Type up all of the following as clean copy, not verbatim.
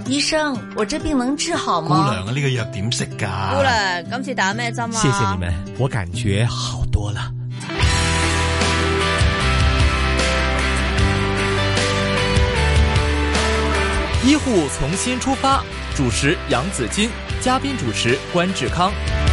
醫生，我這病能治好嗎？ 姑娘啊，呢個藥點食㗎？ 姑娘，今次打咩針啊？ 謝謝你們，我感覺好多了。 醫護從新出發，主持楊子矜，嘉賓主持關志康。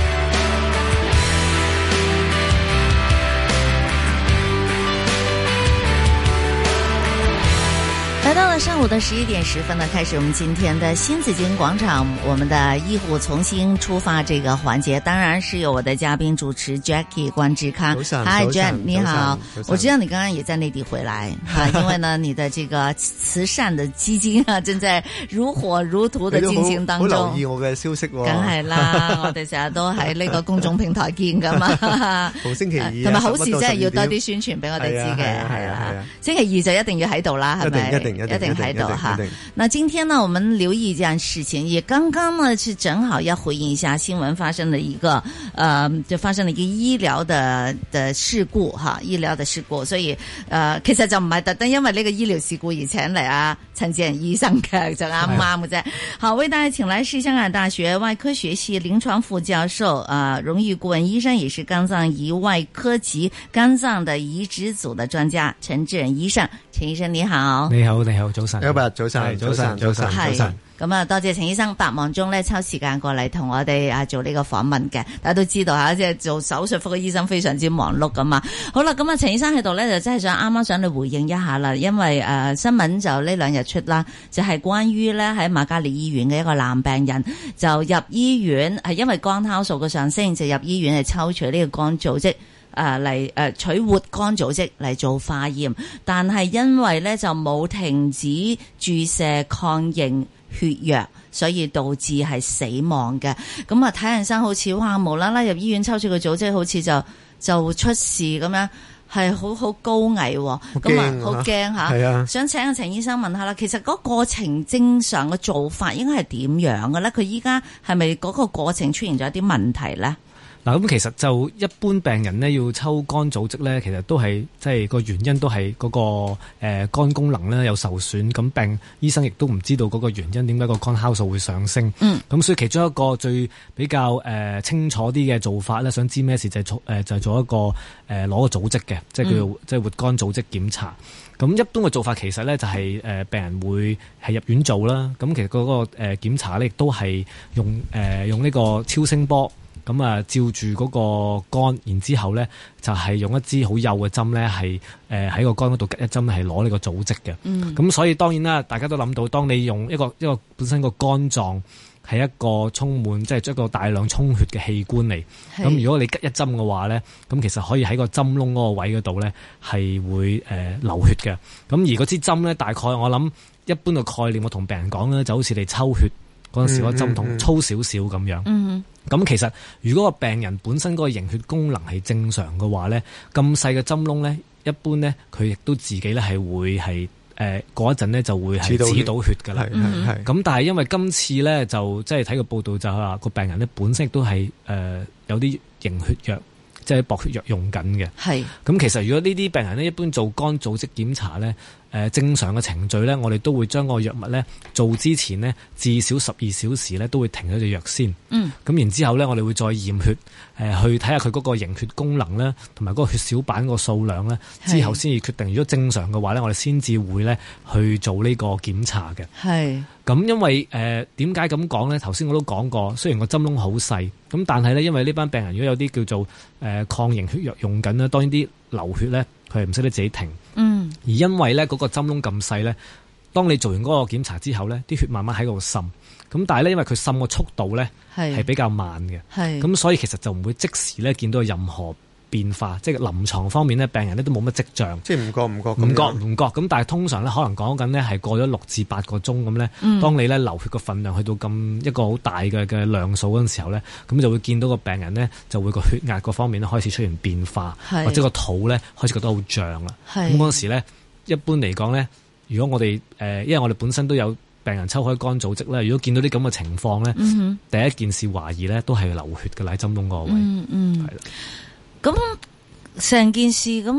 來到了上午的11點10分呢，開始我們今天的新紫荊廣場，我們的醫護從新出發這個環節，當然是由我的嘉賓主持 Jackie 關志康。Hi Jack， 你好，我知道你剛剛也在內地回來啊，因為呢，你的這個慈善的基金啊，正在如火如荼的進行當中。 好留意我嘅消息喎。 梗係啦，我哋成日都喺呢個公眾平台見噶嘛。 逢星期二， 同埋好事真係要多啲宣傳俾我哋知嘅，係啦。星期二就一定要喺度啦，係咪？一定喺度哈。那今天呢，我們留意一件事情，也剛剛呢是正好要回應一下新聞發生的一個就發生了一個醫療的事故哈，醫療的事故，所以其實就唔係特登因為呢個醫療事故而請嚟啊陳智仁醫生嘅，就啱啱嘅啫。好，為大家請來是香港大學外科學系臨床副教授榮譽顧問醫生，也是肝臟胰外科及肝臟的移植組的專家陳智仁醫生。陳醫生你好。 你好，你好，早晨。 早晨，早晨。 咁啊，多謝陳醫生百忙中咧抽時間過嚟同我哋做呢個訪問嘅。大家都知道吓，即係做手術科嘅醫生非常之忙碌噶嘛。好啦，咁啊，陳醫生喺度咧就真係啱啱想嚟回應一下啦，因為新聞就呢兩日出啦，就係關於咧喺瑪嘉烈醫院嘅一個男病人就入醫院係因為肝酵素嘅上升，就入醫院係抽取呢個肝組織。嚟取活肝組織嚟做化驗，但係因為咧就冇停止注射抗凝血藥，所以導致係死亡嘅。咁啊，睇人生好似哇無啦啦入醫院抽取個組織，好似就出事咁樣，係好高危，咁啊好驚嚇。係啊，想請阿陳醫生問下啦，其實嗰個過程正常嘅做法應該係點樣嘅咧？佢依家係咪嗰個過程出現咗一啲問題咧？ 嗱，咁其實就一般病人呢要抽肝組織呢，其實都係即係個原因都係嗰個肝功能呢有受損，咁醫生亦都唔知道嗰個原因點解個肝酵素會上升。咁所以其中一個最比較清楚啲嘅做法呢，想知咩事就係做一個攞個組織嘅，即係叫做即係活肝組織檢查。咁一般嘅做法其實呢就係病人會係入院做啦。咁其實嗰個檢查呢亦都係用呢個超聲波。咁啊，照住嗰個肝，然之後咧就係用一支好幼嘅針咧，係喺個肝嗰度吉一針，係攞呢個組織嘅。咁所以當然啦，大家都諗到，當你用一個本身個肝臟係一個充滿即係一個大量充血嘅器官嚟。咁如果你吉一針嘅話咧，咁其實可以喺個針窿嗰個位嗰度咧係會流血嘅。咁而嗰支針咧，大概我諗一般嘅概念，我同病人講咧，就好似你抽血嗰陣時個針筒粗少少咁樣。咁其實如果個病人本身嗰個凝血功能係正常嘅話咧，咁細嘅針窿咧，一般咧佢亦都自己咧係會係過一陣咧就會係止到血㗎啦。咁但係因為今次咧就即係睇個報道就係話個病人咧本身亦都係有啲凝血藥，即係薄血藥用緊嘅。咁其實如果呢啲病人咧一般做肝組織檢查咧，正常嘅程序咧，我哋都會將個藥物咧做之前呢，至少12小時咧都會停咗隻藥先。咁然之後咧，我哋會再驗血，去睇下佢嗰個凝血功能咧，同埋嗰個血小板個數量咧，之後先至決定。如果正常嘅話咧，我哋先至會咧去做呢個檢查嘅。咁因為點解咁講咧？頭先我都講過，雖然個針窿好細，咁但係咧，因為呢班病人如果有啲叫做抗凝血藥用緊啦，當然啲流血咧佢係唔識得自己停。而因為咧嗰個針窿咁細咧，當你做完嗰個檢查之後咧，啲血慢慢喺度滲，咁但係咧因為佢滲個速度咧係比較慢嘅，咁所以其實就唔會即時咧見到任何變化，即係臨床方面咧病人咧都冇乜跡象， 即係唔覺， 咁但係通常咧可能講緊咧係過咗6至8個鐘咁咧，當你咧流血個分量去到咁一個好大嘅量數嗰陣時候咧，咁就會見到個病人咧就會個血壓嗰方面咧開始出現變化，或者個肚咧開始覺得好脹啦。咁嗰陣時咧一般嚟講咧，如果我哋因為我哋本身都有病人抽開肝組織咧，如果見到啲咁嘅情況咧，第一件事懷疑咧都係流血嘅喺針窿嗰個位，係啦。 咁成件事咁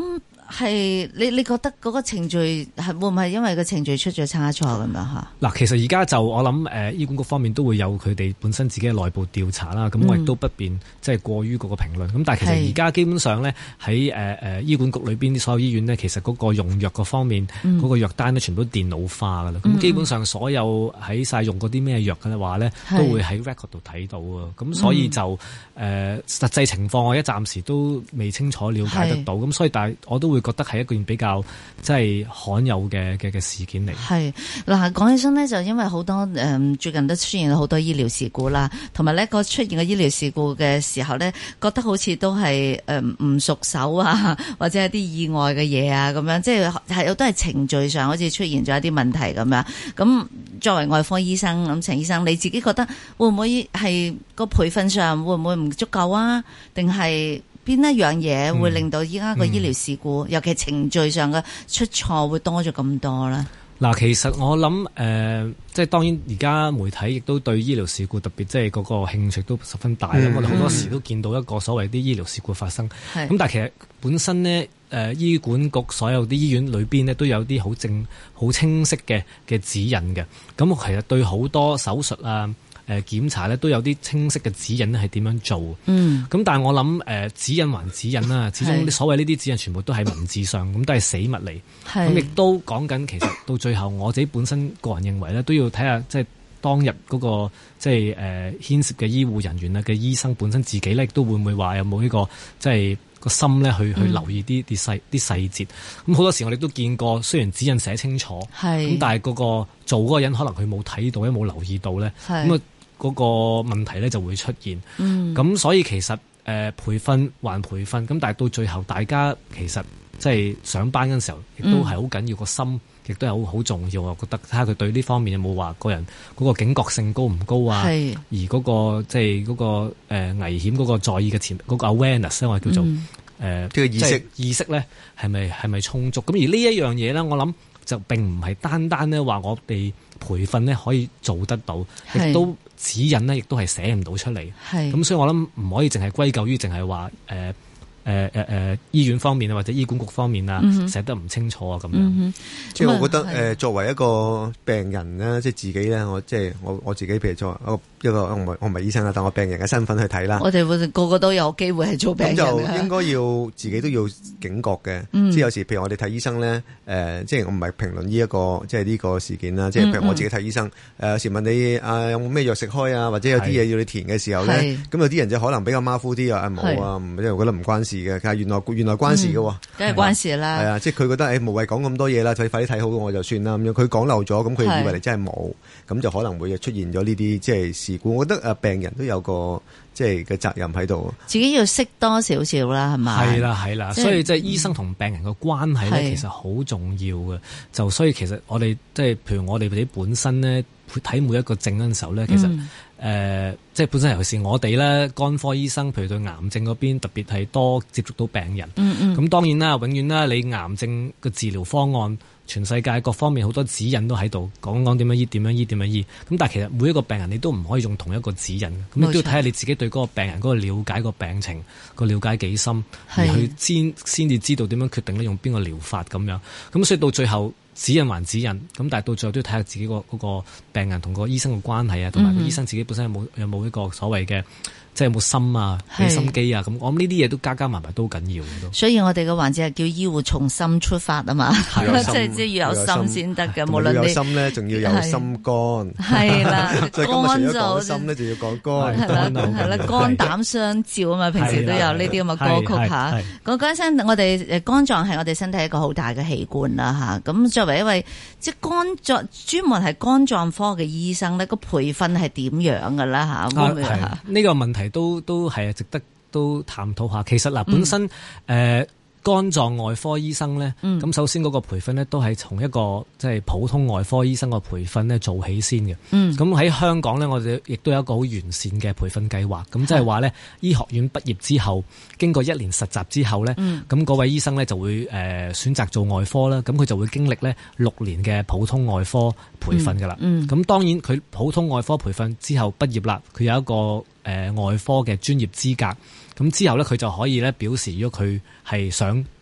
係你覺得嗰個程序係會唔係因為個程序出咗差錯咁樣嚇？ 嗱，其實而家就我諗醫管局方面都會有佢哋本身自己嘅內部調查啦。咁我亦都不便即係過於嗰個評論。咁但係其實而家基本上咧喺醫管局裏邊啲所有醫院咧，其實嗰個用藥嗰方面嗰個藥單咧，全部都電腦化噶啦。咁基本上所有喺晒用嗰啲咩藥嘅話咧，都會喺 record 度睇到啊。咁所以就實際情況我一暫時都未清楚了解得到。咁所以但係我都會覺得係一件比較即係罕有嘅事件嚟。 係嗱，講起身呢，就因為好多最近都出現咗好多醫療事故啦，同埋呢個出現嘅醫療事故嘅時候呢，覺得好似都係唔熟手啊，或者係啲意外嘅嘢啊咁樣，即係都係程序上好似出現咗一啲問題咁樣。咁作為外科醫生，咁陳醫生你自己覺得會唔會係個培訓上會唔會唔足夠啊？定係邊一樣嘢會令到依家個醫療事故，尤其程序上嘅出錯會多咗咁多咧？ 嗱，其實我諗即係當然而家媒體亦都對醫療事故特別即係嗰個興趣都十分大啦。我哋好多時都見到一個所謂啲醫療事故發生。咁但係其實本身呢，醫管局所有啲醫院裏邊呢都有啲好清晰嘅指引嘅。咁其實對好多手術啊，檢查咧都有啲清晰嘅指引咧係點樣做。咁但係我諗指引還指引啦，始終所謂呢啲指引全部都係文字上，咁都係死物嚟。咁亦都講緊其實到最後我自己本身個人認為咧，都要睇下即係當日嗰個即係牽涉嘅醫護人員啊嘅醫生本身自己咧，亦都會唔會話有冇呢個即係個心咧去留意啲細節。咁好多時我哋都見過，雖然指引寫清楚，咁但係嗰個做嗰個人可能佢冇睇到，冇留意到咧，咁嗰個問題咧就會出現。咁所以其實培訓還培訓，咁但係到最後大家其實即係上班嗰陣時候，亦都係好緊要，個心亦都係好重要。我覺得睇下佢對呢方面有冇話個人嗰個警覺性高唔高啊？而嗰個即係嗰個危險嗰個在意嘅嗰個 awareness 咧，我叫做呢個意識咧係咪充足？咁而呢一樣嘢咧，我諗就並唔係單單咧話我哋培訓咧可以做得到，亦都指引咧亦都係寫唔到出嚟。咁所以我諗唔可以淨係歸咎於淨係話醫院方面啊，或者醫管局方面啊，寫得唔清楚啊咁樣。 即係我覺得作為一個病人咧，即係自己咧，我自己譬如作為一個我唔係醫生啦，但我病人嘅身份去睇啦。 我哋個個都有機會係做病人。咁就應該要自己都要警覺嘅。即係有時譬如我哋睇醫生咧，即係我唔係評論呢一個即係呢個事件啦。即係譬如我自己睇醫生，有時問你有冇咩藥食開啊，或者有啲嘢要你填嘅時候咧，咁有啲人就可能比較馬虎啲啊，冇啊，即係覺得唔關事嘅。但係原來關事嘅喎， 梗係關事啦。 係啊，即係佢覺得無謂講咁多嘢啦，就快啲睇好我就算啦。咁樣佢講漏咗，咁佢以為你真係冇，咁就可能會出現咗呢啲即係事故。我覺得病人都有個即係嘅責任喺度， 自己要識多少少啦，係咪？係啦， 所以即係醫生同病人嘅關係咧，其實好重要嘅。就所以其實我哋即係譬如我哋自己本身咧，睇每一個症嗰陣時候咧，其實即係本身尤其是我哋咧肝科醫生，譬如對癌症嗰邊特別係多接觸到病人。咁當然啦，永遠啦，你癌症嘅治療方案，全世界各方面好多指引都喺度講點樣醫，點樣醫，點樣醫。咁但係其實每一個病人你都唔可以用同一個指引，咁你都要睇下你自己對嗰個病人嗰個了解個病情個了解幾深，而去先至知道點樣決定咧用邊個療法咁樣。咁所以到最後指引還指引，咁但係到最後都要睇下自己嗰個病人同個醫生嘅關係啊，同埋個醫生自己本身有冇一個所謂嘅即係有冇心啊，俾心機啊，咁我諗呢啲嘢都加埋都緊要嘅都。 所以我哋嘅環節係叫醫護從心出發啊嘛，即係要有心先得嘅。無論你有心咧，仲要有心肝。係啦， 肝就講心咧，就要講肝。 係啦，肝膽相照啊嘛，平時都有呢啲咁嘅歌曲嚇。講緊身，我哋肝臟係我哋身體一個好大嘅器官啦嚇。咁作為一位即係肝臟專門係肝臟科嘅醫生咧，個培訓係點樣㗎啦嚇？ 呢個問題都係值得都探討下。其實嗱，本身肝臟外科醫生咧，咁首先嗰個培訓咧都係從一個即係普通外科醫生個培訓咧做起先嘅。咁喺香港咧，我哋亦都有一個好完善嘅培訓計劃。咁即係話咧，醫學院畢業之後，經過1年實習之後咧，咁嗰位醫生咧就會選擇做外科啦。咁佢就會經歷咧6年嘅普通外科培訓㗎啦。咁當然佢普通外科培訓之後畢業啦，佢有一個外科嘅專業資格。咁之後咧，佢就可以咧表示，如果佢係想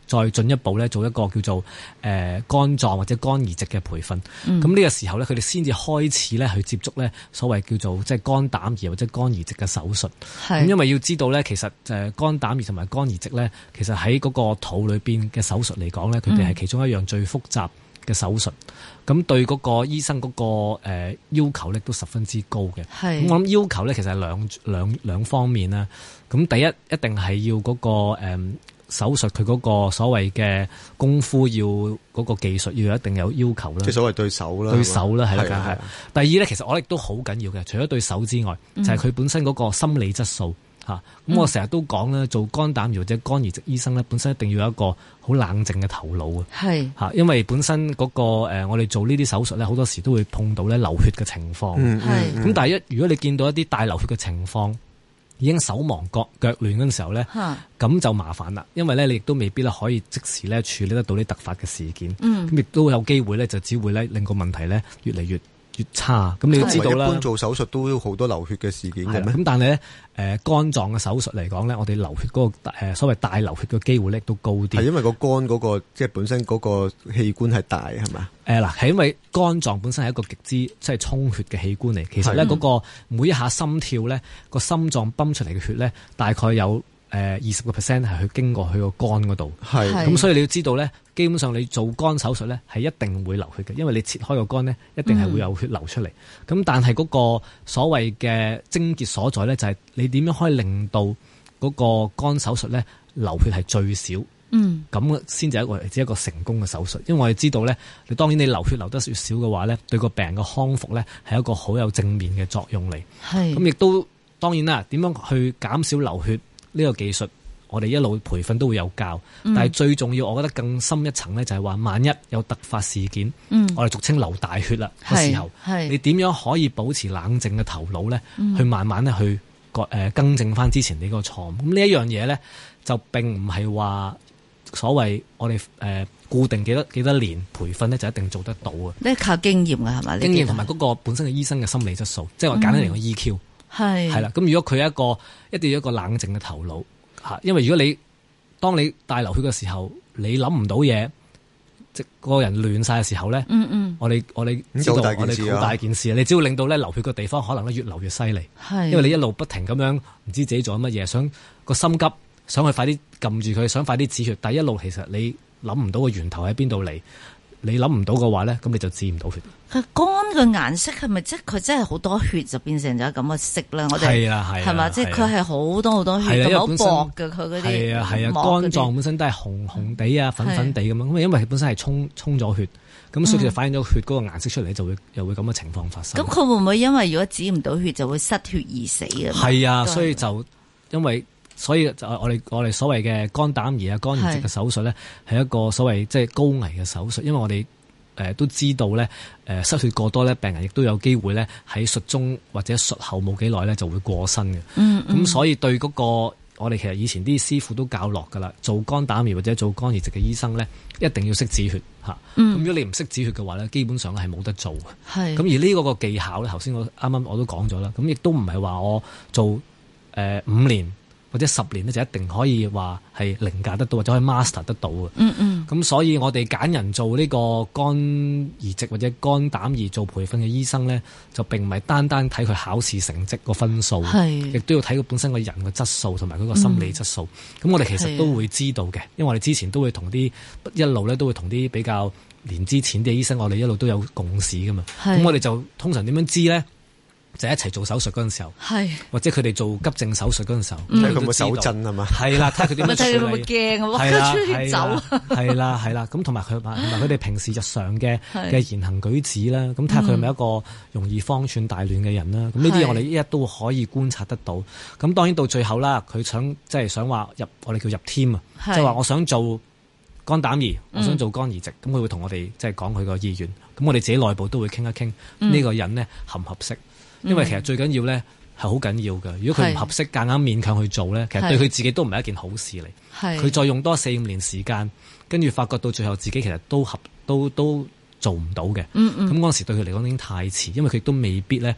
再進一步咧做一個叫做肝臟或者肝移植嘅培訓。咁呢個時候咧，佢哋先至開始咧去接觸咧所謂叫做即係肝膽移或者肝移植嘅手術。咁因為要知道咧，其實肝膽移同埋肝移植咧，其實喺嗰個肚裏邊嘅手術嚟講咧，佢哋係其中一樣最複雜嘅手術。咁對嗰個醫生嗰個要求咧都十分之高嘅。咁我諗要求咧其實係兩方面啦。咁第一一定係要嗰個手術佢嗰個所謂嘅功夫要嗰個技術要一定有要求啦。即係所謂對手啦， 係啦，係。第二咧，其實我哋都好緊要嘅，除咗對手之外，就係佢本身嗰個心理質素嚇。咁我成日都講咧，做肝膽移或者肝移植醫生咧，本身一定要有一個好冷靜嘅頭腦啊。係嚇，因為本身嗰個我哋做呢啲手術咧，好多時都會碰到咧流血嘅情況。咁但係如果你見到一啲大流血嘅情況，已經手忙腳亂嗰陣時候咧，咁就麻煩啦。因為咧，你亦都未必咧可以即時咧處理得到啲突發嘅事件，咁亦都有機會咧就只會咧令個問題咧越嚟越差。咁你要知道啦， 一般做手術都好多流血嘅事件嘅咩？ 咁但係咧，肝臟嘅手術嚟講咧，我哋流血嗰個所謂大流血嘅機會咧都高啲。係因為個肝嗰個即係本身嗰個器官係大係嘛？嗱，係因為肝臟本身係一個極之即係充血嘅器官嚟。其實咧嗰個每一下心跳咧，個心臟泵出嚟嘅血咧，大概有20% 係去經過佢個肝嗰度。係咁，所以你要知道咧，基本上你做肝手術咧係一定會流血嘅，因為你切開個肝咧，一定係會有血流出嚟。咁但係嗰個所謂嘅症結所在咧，就係你點樣可以令到嗰個肝手術咧流血係最少。咁先至一個成功嘅手術。因為我哋知道咧，你當然你流血流得越少嘅話咧，對個病人嘅康復咧係一個好有正面嘅作用嚟。咁亦都當然啦，點樣去減少流血呢個技術，我哋一路培訓都會有教。但係最重要，我覺得更深一層咧，就係話萬一有突發事件，我哋俗稱流大血啦嘅時候，你點樣可以保持冷靜嘅頭腦咧，去慢慢咧去更正翻之前你個錯誤。咁呢一樣嘢咧，就並唔係話所謂我哋固定幾多年培訓咧就一定做得到啊！ 呢靠經驗㗎係咪？ 經驗同埋嗰個本身嘅醫生嘅心理質素，即係我簡單嚟講 EQ 係啦。咁如果佢一定要一個冷靜嘅頭腦嚇，因為如果當你大流血嘅時候，你諗唔到嘢，即個人亂晒嘅時候咧，我哋知道我哋好大件事啊！你只要令到咧流血嘅地方可能咧越流越犀利，因為你一路不停咁樣唔知自己做緊乜嘢，想個心急。想去快啲撳住佢，想快啲止血，但係一路其實你諗唔到個源頭喺邊度嚟，你諗唔到嘅話咧，咁你就止唔到血。 佢肝嘅顏色係咪即係佢真係好多血就變成咗咁嘅色咧？我哋係嘛，即係佢係好多好多血，咁好薄嘅佢嗰啲。係啊， 肝臟本身都係紅地啊、粉粉地咁樣，咁因為佢本身係沖咗血，咁所以就反映咗血嗰個顏色出嚟，又會咁嘅情況發生。咁佢會唔會因為如果止唔到血就會失血而死啊？ 係啊，所以就所以就我哋所謂嘅肝膽移啊、肝移植嘅手術咧，係一個所謂即係高危嘅手術，因為我哋都知道咧，失血過多咧，病人亦都有機會咧喺術中或者術後冇幾耐咧就會過身嘅。咁所以對嗰個我哋其實以前啲師傅都教落㗎啦，做肝膽移或者做肝移植嘅醫生咧，一定要識止血嚇。咁如果你唔識止血嘅話咧，基本上係冇得做嘅。咁而呢個技巧咧，頭先我啱啱我都講咗啦，咁亦都唔係話我做5年。或者10年咧就一定可以話係凌駕得到，或者可以 master 得到嘅。咁所以我哋揀人做呢個肝移植或者肝膽移做培訓嘅醫生咧，就並唔係單單睇佢考試成績個分數，亦都要睇佢本身個人嘅質素同埋佢個心理質素。咁我哋其實都會知道嘅，因為我哋之前都會同啲一路咧都會同啲比較年資淺啲嘅醫生，我哋一路都有共識噶嘛。咁我哋就通常點樣知咧？就一齊做手術嗰陣時候，或者佢哋做急症手術嗰陣時候，睇佢有冇手震係嘛？係啦，睇下佢點樣處理。睇佢會唔會驚啊？出血走。係啦，咁同埋佢哋平時日常嘅言行舉止啦，咁睇下佢係咪一個容易慌串大亂嘅人啦。咁呢啲我哋一都可以觀察得到。咁當然到最後啦，佢想話我哋叫入 team 啊，即係話我想做肝膽移，我想做肝移植，咁佢會同我哋即係講佢個意願。咁我哋自己內部都會傾一傾呢個人呢合唔合適。因為其實最緊要咧係好緊要嘅，如果佢唔合適，夾硬勉強去做咧，其實對佢自己都唔係一件好事嚟。佢再用多4-5年時間，跟住發覺到最後自己其實都做唔到嘅。咁嗰陣時對佢嚟講已經太遲，因為佢都未必咧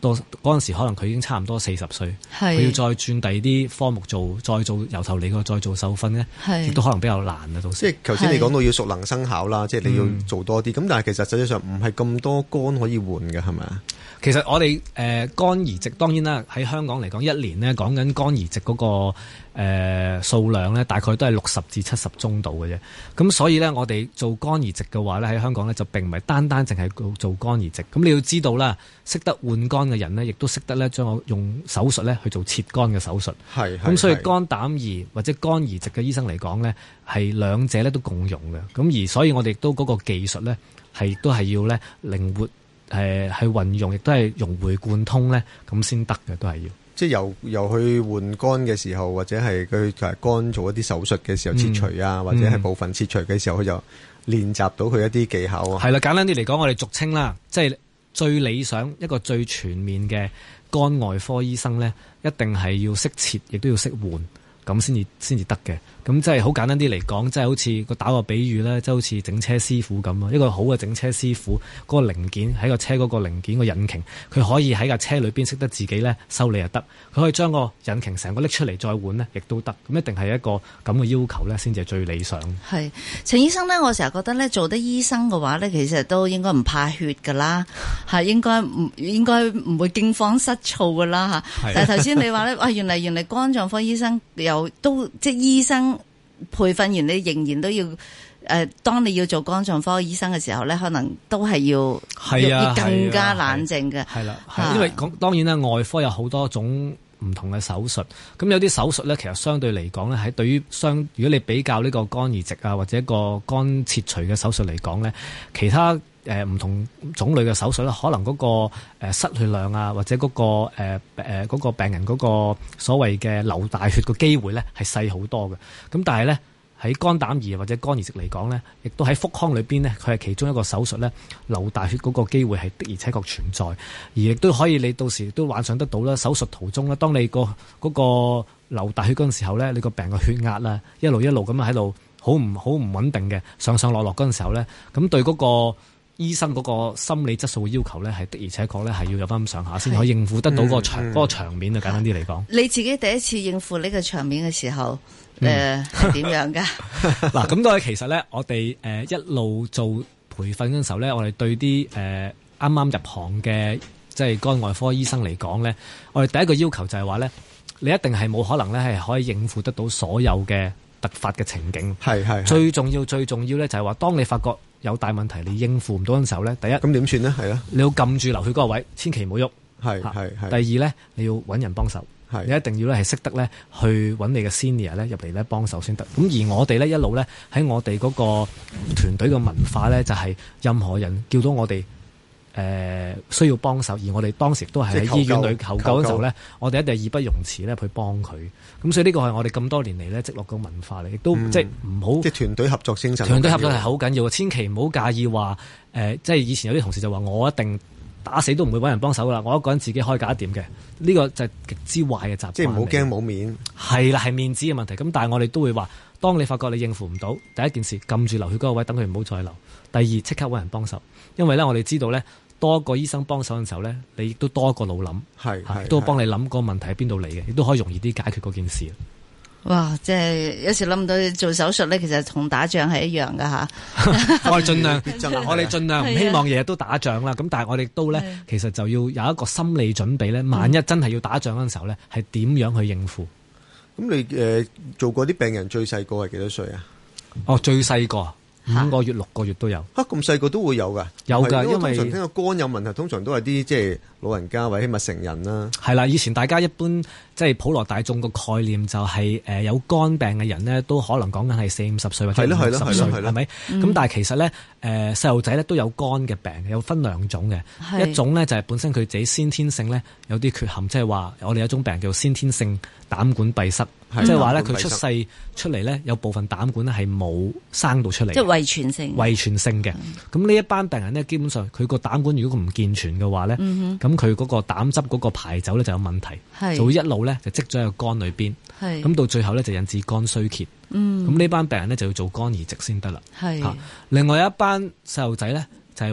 到嗰陣時可能佢已經差唔多40歲，佢要再轉第二啲科目做，再做由頭嚟過再做受訓咧，亦都可能比較難啊。到時即係頭先你講到要熟能生巧啦，即係你要做多啲。咁但係其實實際上唔係咁多肝可以換嘅，係咪啊？ 其實我哋肝移植當然啦，喺香港嚟講，一年呢講緊肝移植嗰個數量呢，大概都係60至70宗度嘅啫。咁所以呢，我哋做肝移植嘅話呢，喺香港呢就並唔係單單淨係做肝移植。咁你要知道啦，識得換肝嘅人呢，亦都識得呢將我用手術呢去做切肝嘅手術。係。咁所以肝膽胰或者肝移植嘅醫生嚟講呢，係兩者呢都共用嘅。咁而所以我哋亦都嗰個技術呢，都係要呢靈活。去運用，亦都係融會貫通咧，咁先得嘅，都係要。即係由去換肝嘅時候，或者係佢肝做一啲手術嘅時候切除啊，或者係部分切除嘅時候，佢就練習到佢一啲技巧啊。係啦，簡單啲嚟講，我哋俗稱啦，即係最理想一個最全面嘅肝外科醫生咧，一定係要識切，亦都要識換，咁先至得嘅。咁即係好簡單啲嚟講，即係好似打個比喻咧，即係好似整車師傅咁啊。一個好嘅整車師傅，嗰個零件喺個車嗰個零件個引擎，佢可以喺架車裏邊識得自己咧修理就得。佢可以將個引擎成個拎出嚟再換呢，亦都得。咁一定係一個咁嘅要求咧，先至係最理想。係陳醫生咧，我成日覺得咧，做得醫生嘅話咧，其實都應該唔怕血噶啦，係應該唔會驚慌失措噶啦嚇。但係頭先你話咧，哇，原嚟肝臟科醫生又都即係醫生。培訓完你仍然都要當你要做肝臟科醫生嘅時候咧，可能都係要更加冷靜嘅。係啦， 因為當然啦，外科有好多種唔同嘅手術，咁有啲手術咧，其實相對嚟講咧，喺對於如果你比較呢個肝移植啊，或者一個肝切除嘅手術嚟講咧，其他唔同種類嘅手術咧，可能嗰個失血量啊，或者嗰個病人嗰個所謂嘅流大血嘅機會咧，係細好多嘅。咁但係咧，喺肝膽胰或者肝移植嚟講咧，亦都喺腹腔裏邊咧，佢係其中一個手術咧，流大血嗰個機會係的而且確存在，而亦都可以你到時都幻想得到啦。手術途中咧，當你嗰個流大血嗰陣時候咧，你個病嘅血壓啦，一路咁喺度好唔穩定嘅上落嗰陣時候咧，咁對嗰個醫生嗰個心理質素嘅要求咧，係的而且確咧係要有翻咁上下，先可以應付得到嗰個場面啊。簡單啲嚟講， 你自己第一次應付呢個場面嘅時候，係點樣㗎？ 嗱，咁都係其實咧，我哋一路做培訓嗰陣時候咧，我哋對啲啱啱入行嘅即係肝外科醫生嚟講咧，我哋第一個要求就係話咧，你一定係冇可能咧係可以應付得到所有嘅突發嘅情景。係最重要咧就係話，當你發覺有大問題，你應付唔到嘅時候咧，第一咁點算呢？係啦，你要撳住流血嗰個位，千祈唔好喐。係。第二咧，你要揾人幫手。你一定要咧係識得咧去揾你嘅 senior 咧入嚟咧幫手先得。咁而我哋咧一路咧喺我哋嗰個團隊嘅文化咧，就係任何人叫到我哋需要幫手，而我哋當時都係喺醫院裏求救嗰時候咧，我哋一定係義不容辭咧去幫佢。咁所以呢個係我哋咁多年嚟咧積落嘅文化嚟，亦都即係唔好即係團隊合作精神。團隊合作係好緊要嘅，千祈唔好介意話即係以前有啲同事就話我一定打死都唔會揾人幫手噶啦，我一個人自己可以搞得掂嘅。呢個就係極之壞嘅習慣。即係唔好驚冇面。係啦，係面子嘅問題。咁但係我哋都會話，當你發覺你應付唔到，第一件事撳住流血嗰個位，等佢唔好再流。第二，即刻揾人幫手，因為咧我哋知道咧，多一個醫生幫手嘅時候咧，你亦都多一個腦諗，都幫你諗個問題喺邊度嚟嘅，亦都可以容易啲解決嗰件事。哇！即係有時諗唔到做手術咧，其實同打仗係一樣噶吓。我哋盡量唔希望日日都打仗啦。咁但係我哋都咧，其實就要有一個心理準備咧。萬一真係要打仗嗰陣時候咧，係點樣去應付？咁你做過啲病人最細個係幾多歲啊？哦，最細個5個月、6個月都有。咁細個都會有㗎？有㗎，因為通常聽到肝有問題，通常都係啲即係老人家或者起碼成人啦。係啦，以前大家一般即係普羅大眾個概念就係有肝病嘅人呢，都可能講緊係40-50歲或者50歲，係咪？咁但係其實咧，細路仔咧都有肝嘅病，有分2種嘅。一種咧就係本身佢自己先天性咧有啲缺陷，即係話我哋有一種病叫先天性膽管閉塞。即係話咧，佢出世出嚟咧，有部分膽管咧係冇生到出嚟，即係遺傳性嘅。咁呢一班病人咧，基本上佢個膽管如果佢唔健全嘅話咧，咁佢嗰個膽汁嗰個排走咧就有問題，就會一路咧就積咗喺個肝裏邊。咁到最後咧就引致肝衰竭。咁呢班病人咧就要做肝移植先得啦。另外一班細路仔咧就係話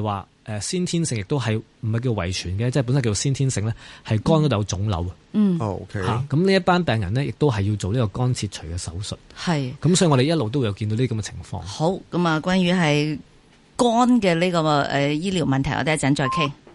先天性，亦都係唔係叫遺傳嘅，即係本身叫先天性咧，係肝嗰度有腫瘤啊。 OK。 咁呢一班病人呢，亦都係要做呢個肝切除嘅手術。 係。 咁所以我哋一路都會有見到呢啲咁嘅情況。 好，咁啊，關於係肝嘅呢個醫療問題，我哋一陣再傾。